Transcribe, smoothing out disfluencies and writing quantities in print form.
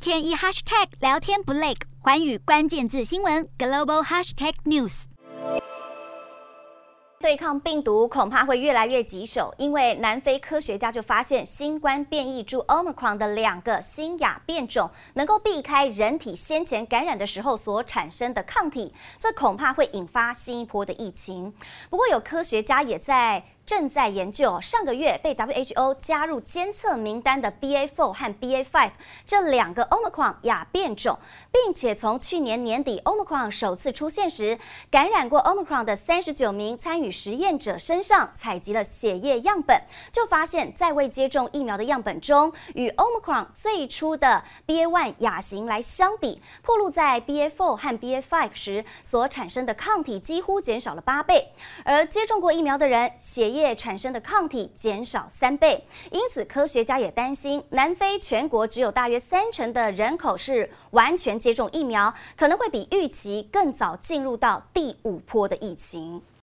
天一 hashtag 聊天不累，寰宇關鍵字新聞 global hashtag news。 对抗病毒恐怕會越來越棘手，因為南非科學家就發現新冠變異株 Omicron 的2個新亞變種能夠避開人體先前感染的時候所產生的抗體，這恐怕會引發新一波的疫情。不過有科學家也正在研究上個月被 WHO 加入監測名單的 BA.4 和 BA.5 這2個 Omicron 亞變種，並且從去年年底 Omicron 首次出現時，感染過 Omicron 的39名參與實驗者身上採集了血液樣本，就發現在未接種疫苗的樣本中，與 Omicron 最初的 BA.1 亞型來相比，暴露在 BA.4 和 BA.5 時所產生的抗體幾乎減少了8倍，而接種過疫苗的人血液產生的抗體減少3倍，因此科學家也擔心，南非全國只有大約30%的人口是完全接種疫苗，可能會比預期更早進入到第5波的疫情。